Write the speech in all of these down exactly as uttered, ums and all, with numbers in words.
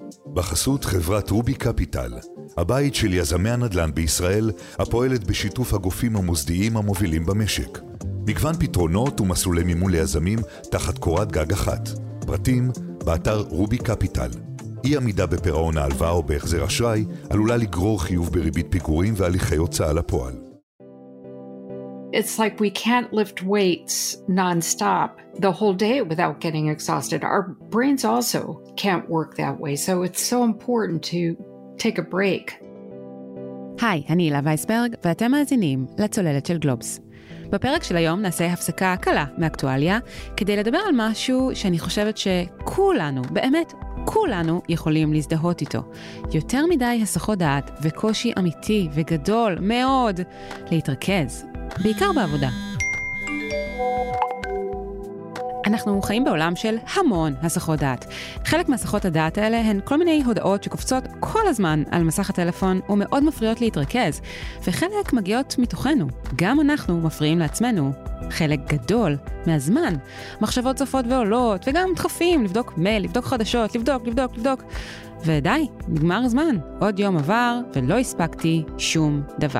בחסות חברת רובי קפיטל, הבית של יזמי הנדל"ן בישראל, הפועלת בשיתוף הגופים המוסדיים המובילים במשק. מגוון פתרונות ומסלולי מימון ליזמים תחת קורת גג אחת. פרטים באתר רובי קפיטל. אי עמידה בפירעון ההלוואה או בהחזר אשראי עלולה לגרור חיוב בריבית פיגורים והליכי הוצאה לפועל. It's like we can't lift weights nonstop the whole day without getting exhausted. Our brains also can't work that way, so it's so important to take a break. היי, אני הילה וייסברג, ואתם מאזינים לצוללת של גלובס. בפרק של היום נעשה הפסקה קלה מאקטואליה, כדי לדבר על משהו שאני חושבת שכולנו, באמת כולנו יכולים להזדהות איתו. יותר מדי הסחות דעת וקושי אמיתי וגדול מאוד להתרכז. בעיקר בעבודה. אנחנו חיים בעולם של המון הסחות דעת. חלק מהסחות הדעת האלה הן כל מיני הודעות שקופצות כל הזמן על מסך הטלפון ומאוד מפריעות להתרכז, וחלק מגיעות מתוכנו. גם אנחנו מפריעים לעצמנו חלק גדול מהזמן. מחשבות צופות ועולות, וגם דחפים לבדוק מייל, לבדוק חדשות, לבדוק, לבדוק, לבדוק. ודי, נגמר הזמן. עוד יום עבר ולא הספקתי שום דבר.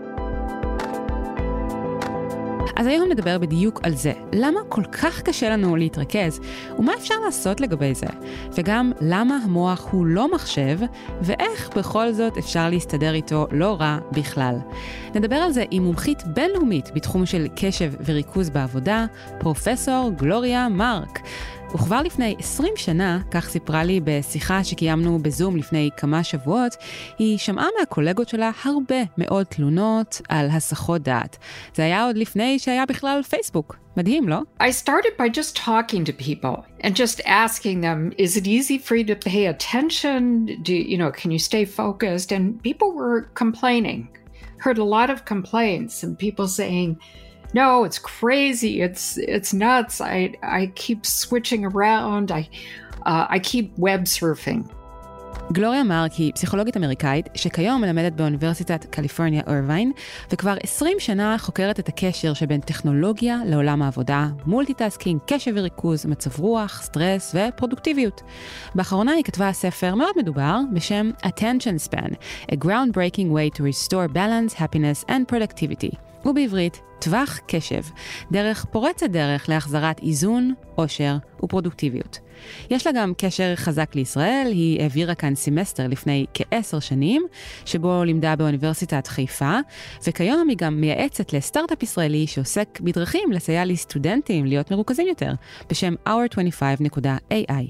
אז היום נדבר בדיוק על זה. למה כל כך קשה לנו להתרכז, ומה אפשר לעשות לגבי זה? וגם למה המוח הוא לא מחשב, ואיך בכל זאת אפשר להסתדר איתו לא רע בכלל. נדבר על זה עם מומחית בינלאומית בתחום של קשב וריכוז בעבודה, פרופסור גלוריה מרק. וכבר לפני עשרים שנה, כך סיפרה לי בשיחה שקיימנו בזום לפני כמה שבועות, היא שמעה מהקולגות שלה הרבה מאוד תלונות על הסחות דעת. זה היה עוד לפני שהיה בכלל פייסבוק. מדהים, לא? I started by just talking to people and just asking them, is it easy for you to pay attention? Do you know, can you stay focused? And people were complaining. Heard a lot of complaints and people saying, no, it's crazy. It's it's nuts. I I keep switching around. I uh, I keep web surfing. גלוריה מרק היא פסיכולוגית אמריקאית שכיום מלמדת באוניברסיטת קליפורניה ארווין, וכבר עשרים שנה חוקרת את הקשר שבין טכנולוגיה לעולם העבודה, מולטיטאסקינג, קשב וריכוז, מצב רוח, סטרס ופרודוקטיביות. באחרונה היא כתבה ספר מאוד מדובר בשם Attention Span, A Groundbreaking Way to Restore Balance, Happiness and Productivity. ובעברית, טווח קשב, דרך פורצת דרך להחזרת איזון, עושר ופרודוקטיביות. יש לה גם קשר חזק לישראל, היא העבירה כאן סמסטר לפני כעשר שנים, שבו לימדה באוניברסיטת חיפה, וכיום היא גם מייעצת לסטארט-אפ ישראלי שעוסק בדרכים לסייע לסטודנטים להיות מרוכזים יותר, בשם our עשרים וחמש נקודה איי איי.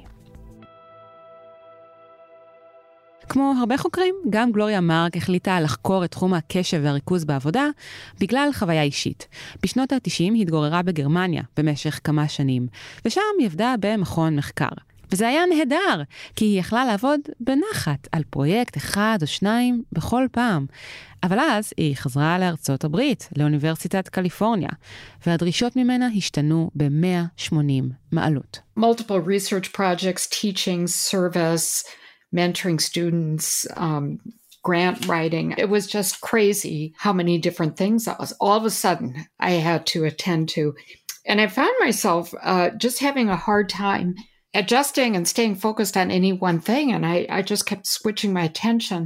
כמו הרבה חוקרים, גם גלוריה מרק החליטה לחקור את תחום הקשב והריכוז בעבודה בגלל חוויה אישית. בשנות ה-תשעים היא התגוררה בגרמניה במשך כמה שנים, ושם היא עבדה במכון מחקר. וזה היה נהדר, כי היא יכלה לעבוד בנחת על פרויקט אחד או שניים בכל פעם. אבל אז היא חזרה לארצות הברית, לאוניברסיטת קליפורניה, והדרישות ממנה השתנו ב-מאה ושמונים מעלות. Multiple research projects, teaching, service, mentoring students, um, grant writing. It was just crazy how many different things I was, all of a sudden I had to attend to. And I found myself uh, just having a hard time adjusting and staying focused on any one thing. And I, I just kept switching my attention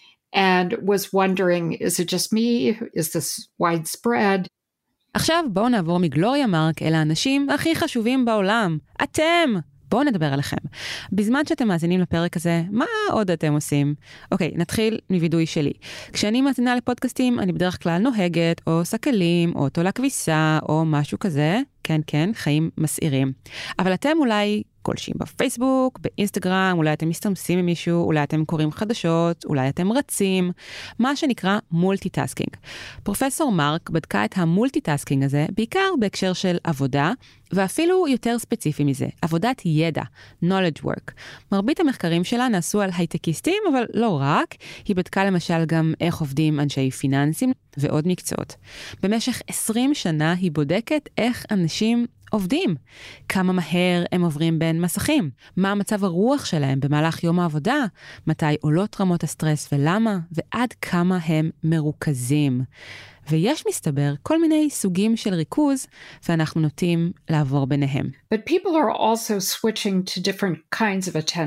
and was wondering, is it just me? Is this widespread? עכשיו בואו נעבור מגלוריה מרק אל האנשים הכי חשובים בעולם. אתם! בואו נדבר עליכם. בזמן שאתם מאזינים לפרק הזה, מה עוד אתם עושים? אוקיי, נתחיל מוידוי שלי. כשאני מאזינה לפודקאסטים, אני בדרך כלל נוהגת, או סקלים, או תולה כביסה, או משהו כזה. כן, כן, חיים מסעירים. אבל אתם אולי גולשים בפייסבוק, באינסטגרם, אולי אתם מסתמסים עם מישהו, אולי אתם קוראים חדשות, אולי אתם רצים, מה שנקרא מולטיטאסקינג. פרופסור מרק בדקה את המולטיטאסקינג הזה, בעיקר בהקשר של עבודה, ואפילו יותר ספציפי מזה, עבודת ידע, knowledge work. מרבית המחקרים שלה נעשו על הייטקיסטים, אבל לא רק. היא בדקה למשל גם איך עובדים אנשי פיננסים ועוד מקצועות. במשך עשרים שנה היא בודקת איך אנשים עובדים, כמה מהר הם עוברים בין מסכים, מה מצב הרוח שלהם במהלך יום העבודה, מתי עולות רמות הסטרס ולמה, ועד כמה הם מרוכזים. ויש מסתבר כל מיני סוגים של ריכוז, ואנחנו נוטים לעבור ביניהם. But people are also switching to different kinds of attention.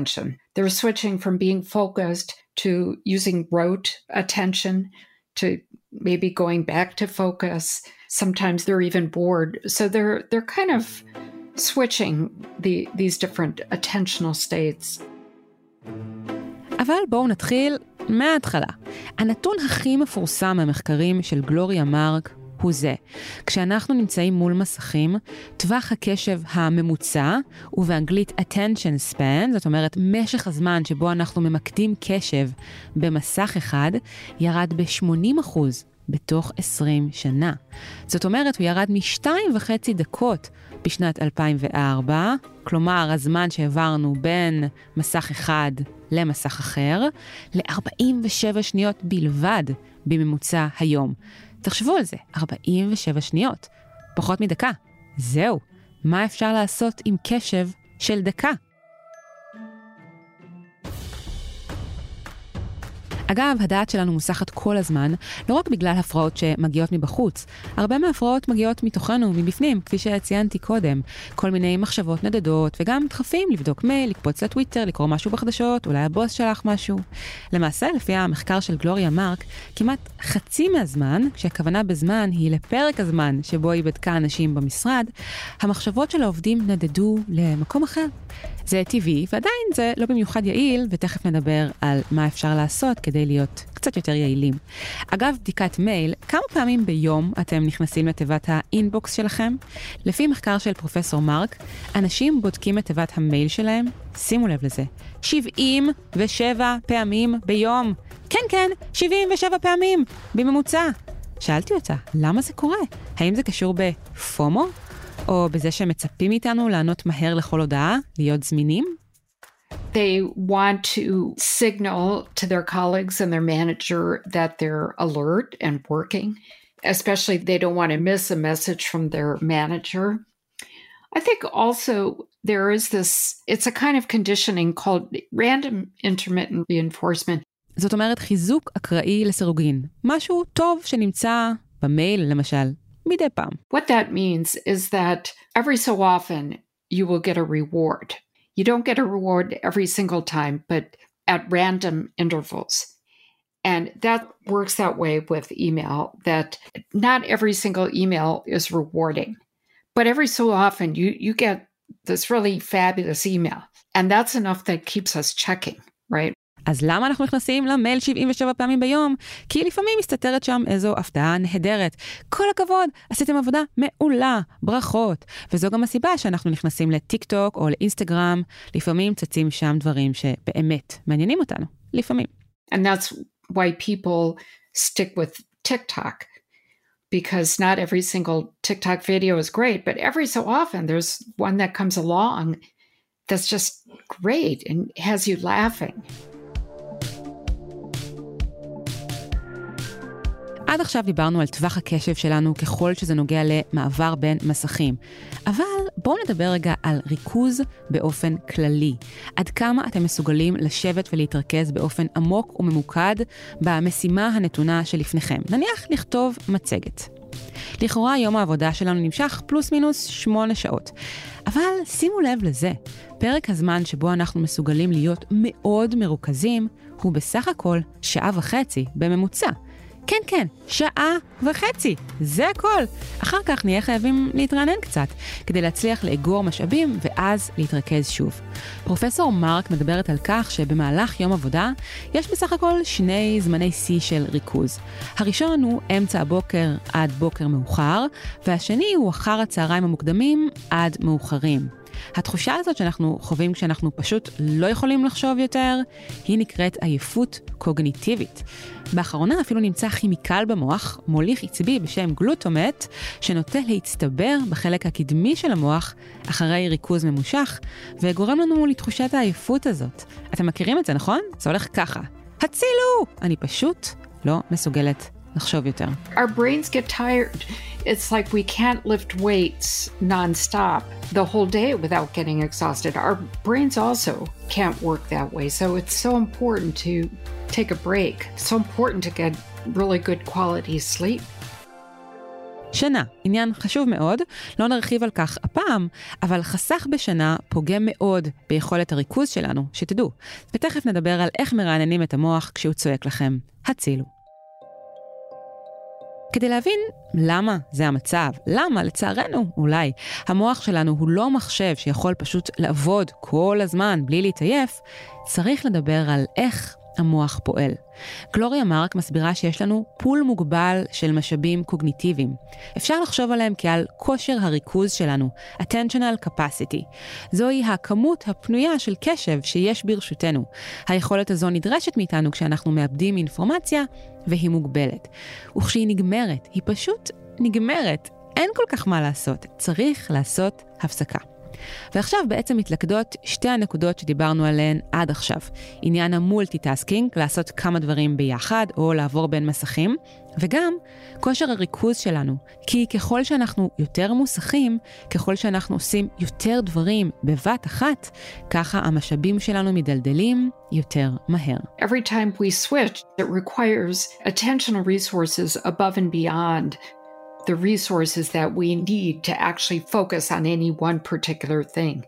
They're switching from being focused to using rote attention to maybe going back to focus. Sometimes they're even bored. So they're they're kind of switching the, these different attentional states. אבל בואו נתחיל מההתחלה. הנתון הכי מפורסם מהמחקרים של גלוריה מרק הוא זה. כשאנחנו נמצאים מול מסכים, טווח הקשב הממוצע, ובאנגלית attention span, זאת אומרת משך הזמן שבו אנחנו ממקדים קשב במסך אחד, ירד ב-שמונים אחוז בתוך עשרים שנה. זאת אומרת, הוא ירד משתיים וחצי דקות בשנת אלפיים וארבע, כלומר, הזמן שהעברנו בין מסך אחד למסך אחר, ל-ארבעים ושבע שניות בלבד בממוצע היום. תחשבו על זה, ארבעים ושבע שניות, פחות מדקה. זהו, מה אפשר לעשות עם קשב של דקה? אגב, הדעת שלנו מוסחת כל הזמן, לא רק בגלל הפרעות שמגיעות מבחוץ. הרבה מההפרעות מגיעות מתוכנו, מבפנים, כפי שציינתי קודם. כל מיני מחשבות נדדות, וגם דחפים לבדוק מייל, לקפוץ לטוויטר, לקרוא משהו בחדשות, אולי הבוס שלח משהו. למעשה, לפי המחקר של גלוריה מרק, כמעט חצי מהזמן, כשהכוונה בזמן היא לפרק הזמן שבו היא בדקה אנשים במשרד, המחשבות של העובדים נדדו למקום אחר. זה טבעי, ועדיין זה לא במיוחד יעיל, ותכף נדבר על מה אפשר לעשות כדי להיות קצת יותר יעילים. אגב, בדיקת מייל, כמה פעמים ביום אתם נכנסים לתיבת האינבוקס שלכם? לפי מחקר של פרופסור מרק, אנשים בודקים את תיבת המייל שלהם, שימו לב לזה, שבעים ושבע פעמים ביום. כן, כן, שבעים ושבע פעמים בממוצע. שאלתי אותה, למה זה קורה? האם זה קשור בפומו? או בזה שמצפים איתנו לענות מהר לכל הודעה, להיות זמינים? They want to signal to their colleagues and their manager that they're alert and working, especially they don't want to miss a message from their manager. I think also there is this, it's a kind of conditioning called random intermittent reinforcement. זאת אומרת חיזוק אקראי לסירוגין, משהו טוב שנמצא במייל למשל. מדי פעם. What that means is that every so often you will get a reward. You don't get a reward every single time, but at random intervals. And that works that way with email, that not every single email is rewarding. But every so often you, you get this really fabulous email. And that's enough that keeps us checking, right? אז למה אנחנו נכנסים למייל שבעים ושבע פעמים ביום? כי לפעמים מסתתרת שם איזו הפתעה נהדרת. כל הכבוד, עשיתם עבודה מעולה, ברכות. וזו גם הסיבה שאנחנו נכנסים לטיק טוק או לאינסטגרם, לפעמים צצים שם דברים שבאמת מעניינים אותנו, לפעמים. And that's why people stick with TikTok, because not every single TikTok video is great, but every so often there's one that comes along that's just great and has you laughing. עד עכשיו דיברנו על טווח הקשב שלנו ככל שזה נוגע למעבר בין מסכים. אבל בואו נדבר רגע על ריכוז באופן כללי. עד כמה אתם מסוגלים לשבת ולהתרכז באופן עמוק וממוקד במשימה הנתונה שלפניכם. נניח לכתוב מצגת. לכאורה יום העבודה שלנו נמשך פלוס מינוס שמונה שעות. אבל שימו לב לזה, פרק הזמן שבו אנחנו מסוגלים להיות מאוד מרוכזים הוא בסך הכל שעה וחצי בממוצע. כן, כן, שעה וחצי, זה הכל. אחר כך נהיה חייבים להתרענן קצת, כדי להצליח לאגור משאבים ואז להתרכז שוב. פרופסור מרק מדברת על כך שבמהלך יום עבודה יש בסך הכל שני זמני שיא של ריכוז. הראשון הוא אמצע הבוקר עד בוקר מאוחר, והשני הוא אחר הצהריים המוקדמים עד מאוחרים. התחושה הזאת שאנחנו חווים כשאנחנו פשוט לא יכולים לחשוב יותר, היא נקראת עייפות קוגניטיבית. באחרונה אפילו נמצא כימיקל במוח, מוליך עצבי בשם גלוטומט, שנוטה להצטבר בחלק הקדמי של המוח אחרי ריכוז ממושך, וגורם לנו לתחושת העייפות הזאת. אתם מכירים את זה, נכון? זה הולך ככה. הצילו! אני פשוט לא מסוגלת לחשוב יותר. Our brains get tired. It's like we can't lift weights non-stop the whole day without getting exhausted. Our brains also can't work that way. So it's so important to take a break. It's so important to get really good quality sleep. שנה, עניין חשוב מאוד, לא נרחיב על כך הפעם, אבל חסך בשנה פוגם מאוד ביכולת הריכוז שלנו, שתדעו. ותכף נדבר על איך מרעננים את המוח כשהוא צועק לכם, הצילו. כדי להבין למה זה המצב, למה לצערנו אולי המוח שלנו הוא לא מחשב שיכול פשוט לעבוד כל הזמן בלי להתעייף, צריך לדבר על איך המוח פועל. גלוריה מרק מסבירה שיש לנו פול מוגבל של משאבים קוגניטיביים. אפשר לחשוב עליהם כעל כושר הריכוז שלנו, attentional capacity. זוהי הכמות הפנויה של קשב שיש ברשותנו. היכולת הזו נדרשת מאיתנו כשאנחנו מאבדים אינפורמציה, והיא מוגבלת. וכשהיא נגמרת, היא פשוט נגמרת. אין כל כך מה לעשות, צריך לעשות הפסקה. ועכשיו בעצם מתלכדות שתי הנקודות שדיברנו עליהן עד עכשיו. עניין המולטיטאסקינג, לעשות כמה דברים ביחד או לעבור בין מסכים, וגם כושר הריכוז שלנו. כי ככל שאנחנו יותר מוסכים, ככל שאנחנו עושים יותר דברים בבת אחת, ככה המשאבים שלנו מדלדלים יותר מהר. Every time we switch, it requires attentional resources above and beyond the resources that we need to actually focus on any one particular thing.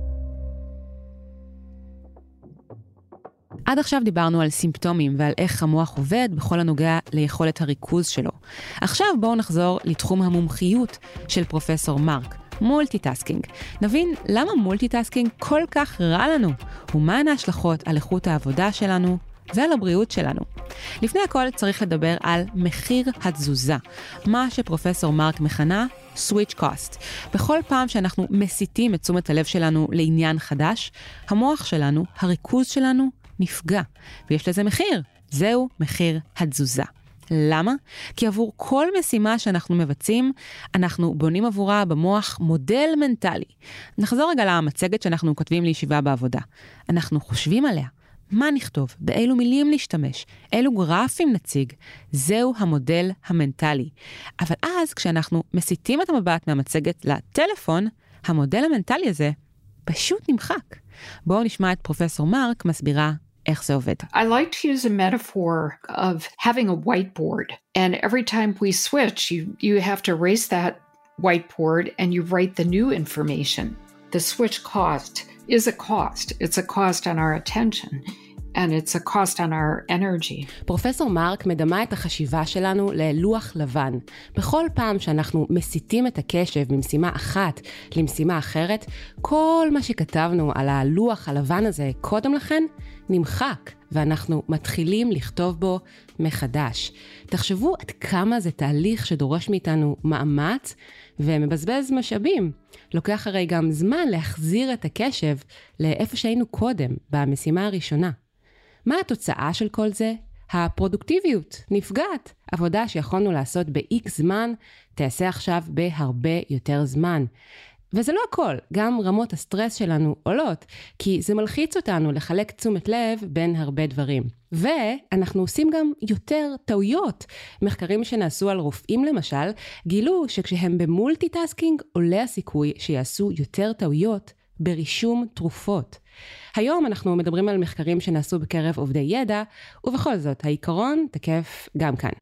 עד עכשיו דיברנו על סימפטומים ועל איך המוח עובד בכל הנוגע ליכולת הריכוז שלו. עכשיו בואו נחזור לתחום המומחיות של פרופסור מרק, מולטיטאסקינג. נבין למה מולטיטאסקינג כל כך רע לנו, ומהן ההשלכות על איכות העבודה שלנו ועל הבריאות שלנו. לפני הכל צריך לדבר על מחיר התזוזה, מה שפרופסור מרק מכנה switch cost. בכל פעם שאנחנו מסיטים את תשומת הלב שלנו לעניין חדש, המוח שלנו, הריכוז שלנו, נפגע. ויש לזה מחיר. זהו מחיר התזוזה. למה? כי עבור כל משימה שאנחנו מבצעים, אנחנו בונים עבורה במוח מודל מנטלי. נחזור רגע למצגת שאנחנו כותבים לישיבה בעבודה. אנחנו חושבים עליה. מה נכתוב? באילו מילים להשתמש? אילו גרפים נציג? זהו המודל המנטלי. אבל אז כשאנחנו מסיטים את המבט מהמצגת לטלפון, המודל המנטלי הזה פשוט נמחק. בואו נשמע את פרופסור מרק מסבירה איך זה עובד. I like to use a metaphor of having a whiteboard. And every time we switch, you, you have to erase that whiteboard and you write the new information. The switch cost is a cost. It's a cost on our attention. And it's a cost on our energy. פרופסור מרק מדמה את החשיבה שלנו ללוח לבן. בכל פעם שאנחנו מסיטים את הקשב ממשימה אחת למשימה אחרת, כל מה שכתבנו על הלוח הלבן הזה קודם לכן נמחק, ואנחנו מתחילים לכתוב בו מחדש. תחשבו עד כמה זה תהליך שדורש מאיתנו מאמץ ומבזבז משאבים. לוקח הרי גם זמן להחזיר את הקשב לאיפה שהיינו קודם, במשימה הראשונה. מה התוצאה של כל זה? הפרודוקטיביות נפגעת. עבודה שיכולנו לעשות ב-X זמן, תעשה עכשיו בהרבה יותר זמן. וזה לא הכל, גם רמות הסטרס שלנו עולות, כי זה מלחיץ אותנו לחלק תשומת לב בין הרבה דברים. ואנחנו עושים גם יותר טעויות. מחקרים שנעשו על רופאים למשל, גילו שכשהם במולטיטאסקינג עולה הסיכוי שיעשו יותר טעויות ברישום תרופות. היום אנחנו מדברים על מחקרים שנעשו בקרב עובדי ידע, ובכל זאת העיקרון תקף גם כאן.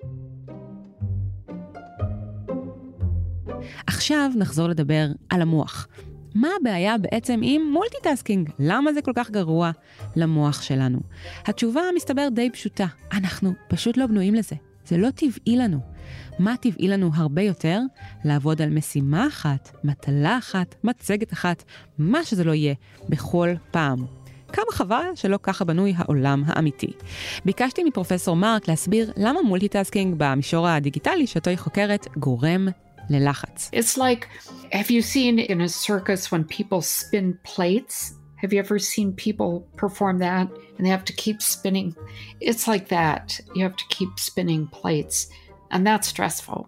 עכשיו נחזור לדבר על המוח. מה הבעיה בעצם עם מולטיטאסקינג? למה זה כל כך גרוע למוח שלנו? התשובה מסתבר די פשוטה. אנחנו פשוט לא בנויים לזה. זה לא טבעי לנו. מה טבעי לנו הרבה יותר? לעבוד על משימה אחת, מטלה אחת, מצגת אחת, מה שזה לא יהיה, בכל פעם. כמה חבל שלא ככה בנוי העולם האמיתי. ביקשתי מפרופסור מרק להסביר למה מולטיטאסקינג במישור הדיגיטלי שאותו היא חוקרת גורם ללחץ. It's like, have you seen in a circus when people spin plates? Have you ever seen people perform that? And they have to keep spinning. It's like that. You have to keep spinning plates. And that's stressful.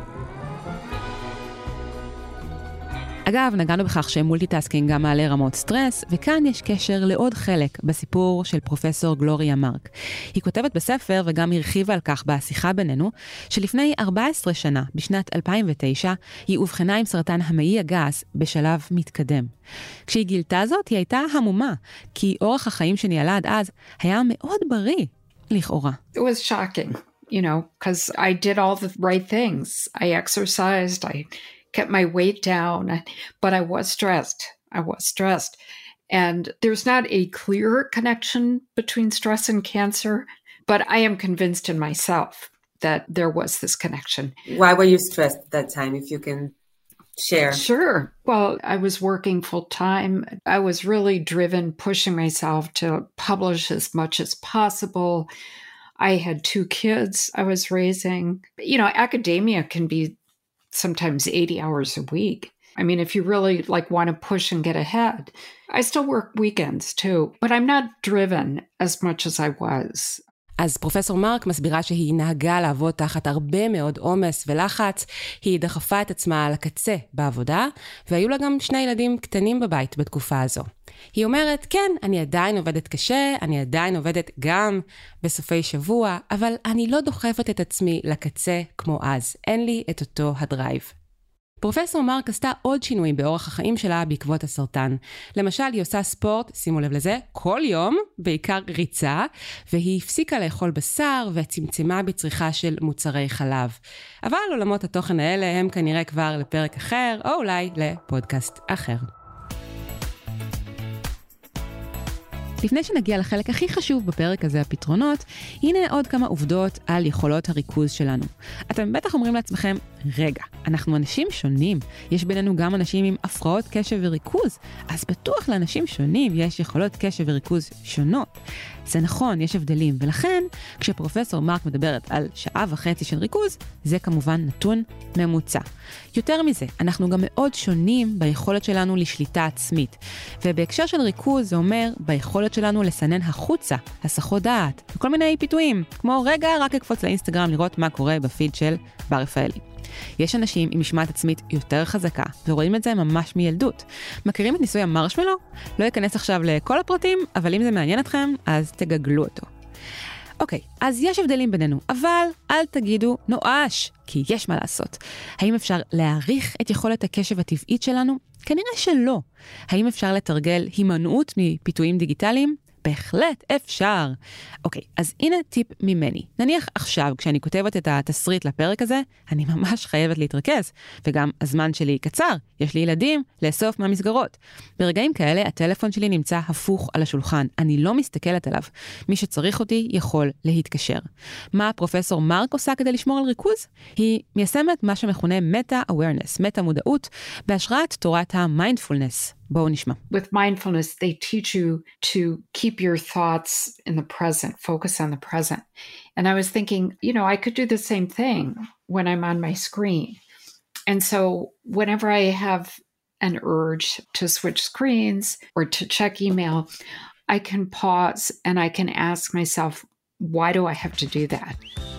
אגב, נגענו בכך שמולטיטאסקינג גם מעלה רמות סטרס, וכאן יש קשר לעוד חלק בסיפור של פרופסור גלוריה מרק. היא כותבת בספר וגם הרחיבה על כך בשיחה בינינו, שלפני ארבע עשרה שנה, בשנת אלפיים ותשע, היא אובחנה עם סרטן המעי הגס בשלב מתקדם. כשהיא גילתה זאת, היא הייתה המומה, כי אורח החיים שניהלה עד אז היה מאוד בריא, לכאורה. It was shocking. you know, because I did all the right things. I exercised, I kept my weight down, but I was stressed. I was stressed. And there's not a clear connection between stress and cancer, but I am convinced in myself that there was this connection. Why were you stressed at that time, if you can share? Sure. Well, I was working full time. I was really driven, pushing myself to publish as much as possible. I had two kids I was raising. You know, academia can be sometimes eighty hours a week. I mean, if you really like want to push and get ahead, I still work weekends too, but I'm not driven as much as I was. אז פרופסור מרק מסבירה שהיא נהגה לעבוד תחת הרבה מאוד עומס ולחץ, היא דחפה את עצמה על הקצה בעבודה, והיו לה גם שני ילדים קטנים בבית בתקופה הזו. היא אומרת, כן, אני עדיין עובדת קשה, אני עדיין עובדת גם בסופי שבוע, אבל אני לא דוחפת את עצמי לקצה כמו אז, אין לי את אותו הדרייב. פרופסור מרק עשתה עוד שינויים באורח החיים שלה בעקבות הסרטן. למשל, היא עושה ספורט, שימו לב לזה, כל יום, בעיקר ריצה, והיא הפסיקה לאכול בשר וצמצמה בצריכה של מוצרי חלב. אבל עולמות התוכן האלה הם כנראה כבר לפרק אחר, או אולי לפודקאסט אחר. לפני שנגיע לחלק הכי חשוב בפרק הזה, הפתרונות, הנה עוד כמה עובדות על יכולות הריכוז שלנו. אתם בטח אומרים לעצמכם, רגע, אנחנו אנשים שונים. יש בינינו גם אנשים עם הפרעות קשב וריכוז, אז בטוח לאנשים שונים יש יכולות קשב וריכוז שונות. זה נכון, יש הבדלים, ולכן כשפרופסור מרק מדברת על שעה וחצי של ריכוז, זה כמובן נתון ממוצע. יותר מזה, אנחנו גם מאוד שונים ביכולת שלנו לשליטה עצמית. ובהקשר של ריכוז זה אומר ביכולת שלנו לסנן החוצה, הסחות דעת, וכל מיני פיתויים, כמו רגע רק לקפוץ לאינסטגרם לראות מה קורה בפיד של בר רפאלי. יש אנשים עם משמעת עצמית יותר חזקה, ורואים את זה ממש מילדות. מכירים את ניסוי המרשמלו? לא אכנס עכשיו לכל הפרטים, אבל אם זה מעניין אתכם, אז תגגלו אותו. אוקיי, אז יש הבדלים בינינו, אבל אל תגידו נואש, כי יש מה לעשות. האם אפשר להעריך את יכולת הקשב הטבעית שלנו? כנראה שלא. האם אפשר לתרגל הימנעות מפיתויים דיגיטליים? בהחלט אפשר. אוקיי, אז הנה טיפ ממני. נניח עכשיו, כשאני כותבת את התסריט לפרק הזה, אני ממש חייבת להתרכז, וגם הזמן שלי קצר. יש לי ילדים לאסוף מהמסגרות. ברגעים כאלה, הטלפון שלי נמצא הפוך על השולחן. אני לא מסתכלת עליו. מי שצריך אותי יכול להתקשר. מה פרופסור מרק עושה כדי לשמור על ריכוז? היא מיישמת מה שמכונה meta-awareness, מטה-מודעות, בהשראת תורת ה-mindfulness. בואו נשמע. With mindfulness, they teach you to keep your thoughts in the present, focus on the present. And I was thinking, you know, I could do the same thing when I'm on my screen. And so whenever I have an urge to switch screens or to check email, I can pause and I can ask myself, why do I have to do that?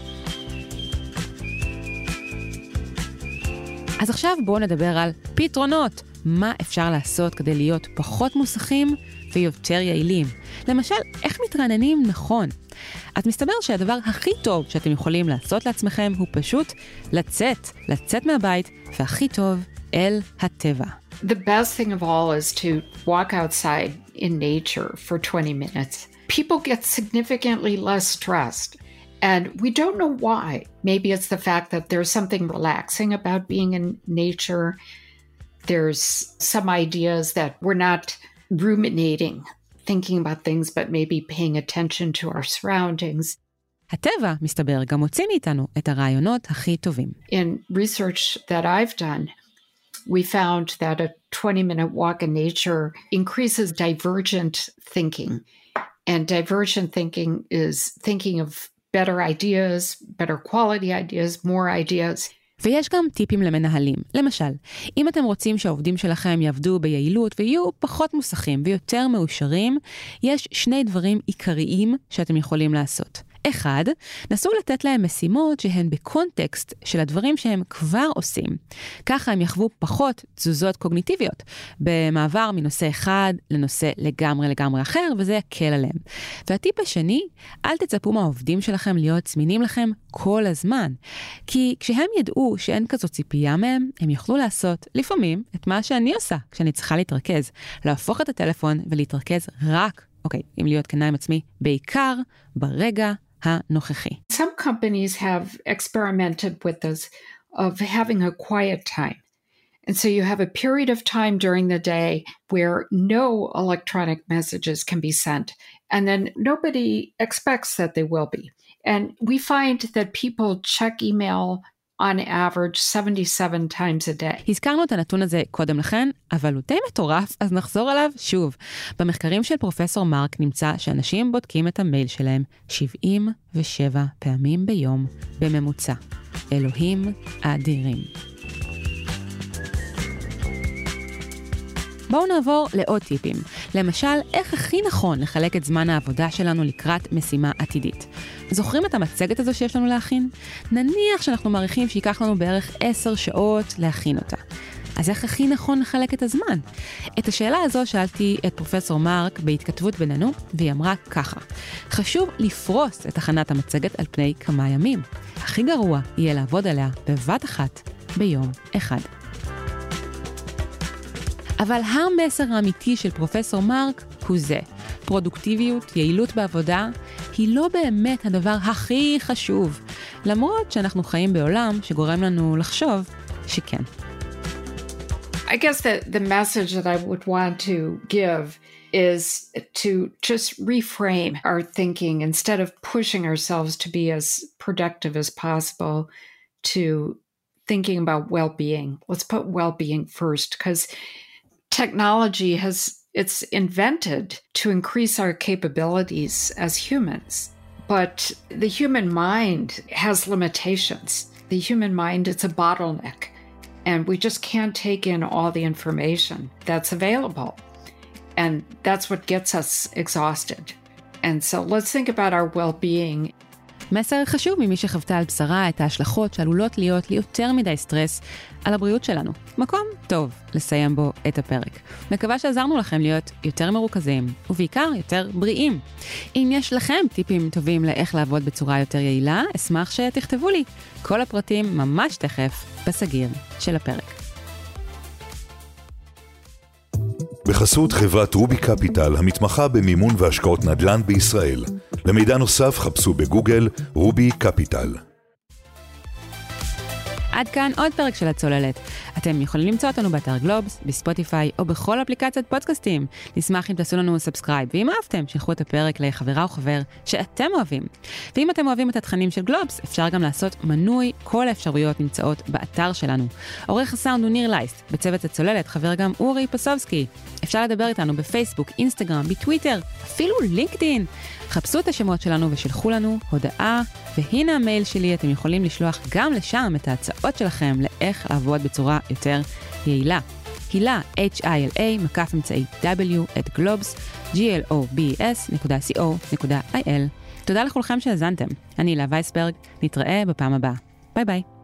אז עכשיו בואו נדבר על פתרונות. מה אפשר לעשות כדי להיות פחות מוסכים ויותר יעילים? למשל, איך מתרעננים נכון? אז מסתבר שהדבר הכי טוב שאתם יכולים לעשות לעצמכם הוא פשוט לצאת, לצאת מהבית, והכי טוב, אל הטבע. The best thing of all is to walk outside in nature for twenty minutes. People get significantly less stressed. And we don't know why. Maybe it's the fact that there's something relaxing about being in nature. There's some ideas that we're not ruminating, thinking about things, but maybe paying attention to our surroundings. הטבע, מסתבר, גם מוציא מאיתנו את הרעיונות הכי טובים. In research that I've done, we found that a twenty-minute walk in nature increases divergent thinking. And divergent thinking is thinking of better ideas, better quality ideas, more ideas. ויש גם טיפים למנהלים. למשל, אם אתם רוצים שהעובדים שלכם יעבדו ביעילות ויהיו פחות מוסכים ויותר מאושרים, יש שני דברים עיקריים שאתם יכולים לעשות. אחד, נסו לתת להם משימות שהן בקונטקסט של הדברים שהם כבר עושים. ככה הם יחוו פחות תזוזות קוגניטיביות, במעבר מנושא אחד לנושא לגמרי לגמרי אחר, וזה יקל עליהם. והטיפ השני, אל תצפו מהעובדים שלכם להיות זמינים לכם כל הזמן. כי כשהם ידעו שאין כזו ציפייה מהם, הם יוכלו לעשות לפעמים את מה שאני עושה כשאני צריכה להתרכז. להפוך את הטלפון ולהתרכז רק, אוקיי, אם להיות כנה עם עצמי, בעיקר ברגע הנוכחי. Some companies have experimented with this of having a quiet time. And so you have a period of time during the day where no electronic messages can be sent. And then nobody expects that they will be. And we find that people check email on average seventy-seven times a day. הזכרנו את הנתון הזה קודם לכן, אבל הוא די מטורף, אז נחזור עליו שוב. במחקרים של פרופסור מרק נמצא שאנשים בודקים את המייל שלהם שבעים ושבע פעמים ביום בממוצע. אלוהים אדירים. בואו נעבור לעוד טיפים. למשל, איך הכי נכון לחלק את זמן העבודה שלנו לקראת משימה עתידית. זוכרים את המצגת הזו שיש לנו להכין? נניח שאנחנו מעריכים שיקח לנו בערך עשר שעות להכין אותה. אז איך הכי נכון לחלק את הזמן? את השאלה הזו שאלתי את פרופסור מרק בהתכתבות בינינו, והיא אמרה ככה: חשוב לפרוס את הכנת המצגת על פני כמה ימים. הכי גרוע יהיה לעבוד עליה בבת אחת ביום אחד. אבל המסר האמיתי של פרופסור מרק הוא זה. פרודוקטיביות, יעילות בעבודה, היא לא באמת הדבר הכי חשוב, למרות שאנחנו חיים בעולם שגורם לנו לחשוב שכן. I guess that the message that I would want to give is to just reframe our thinking instead of pushing ourselves to be as productive as possible, to thinking about well-being. Let's put well-being first, because technology has, it's invented to increase our capabilities as humans. But the human mind has limitations. The human mind, it's a bottleneck. And we just can't take in all the information that's available. And that's what gets us exhausted. And so let's think about our well-being. מסר חשוב ממי שחוותה על בשרה את ההשלכות שעלולות להיות לי יותר מדי סטרס על הבריאות שלנו. מקום טוב לסיים בו את הפרק. מקווה שעזרנו לכם להיות יותר מרוכזים, ובעיקר יותר בריאים. אם יש לכם טיפים טובים לאיך לעבוד בצורה יותר יעילה, אשמח שתכתבו לי. כל הפרטים ממש תכף בסגיר של הפרק. בחסות חברת רובי קפיטל, המתמחה במימון והשקעות נדל"ן בישראל. למידע נוסף חפשו בגוגל רובי קפיטל. עד כאן עוד פרק של הצוללת. אתם יכולים למצוא אותנו באתר גלובס, בספוטיפיי או בכל אפליקציית פודקאסטים. נשמח אם תעשו לנו סאבסקרייב, ואם אהבתם, שלחו את הפרק לחברה או חבר שאתם אוהבים. ואם אתם אוהבים את התכנים של גלובס, אפשר גם לעשות מנוי. כל האפשרויות נמצאות באתר שלנו. עורך הסאונד הוא ניר לייסט, בצוות הצוללת חבר גם אורי פסובסקי. אפשר לדבר איתנו בפייסבוק, אינסטגרם, בטוויטר, אפילו לינקדין. חפשו את השמות שלנו ושלחו לנו הודעה, והנה המייל שלי, אתם יכולים לשלוח גם לשם את ההצעות שלכם לאיך לעבוד בצורה יותר יעילה. הילה, H I L A, מקף אמצעי W, at globes, G L O B S נקודה C O נקודה I L. תודה לכולכם שהזנתם. אני הילה וייסברג, נתראה בפעם הבאה. ביי ביי.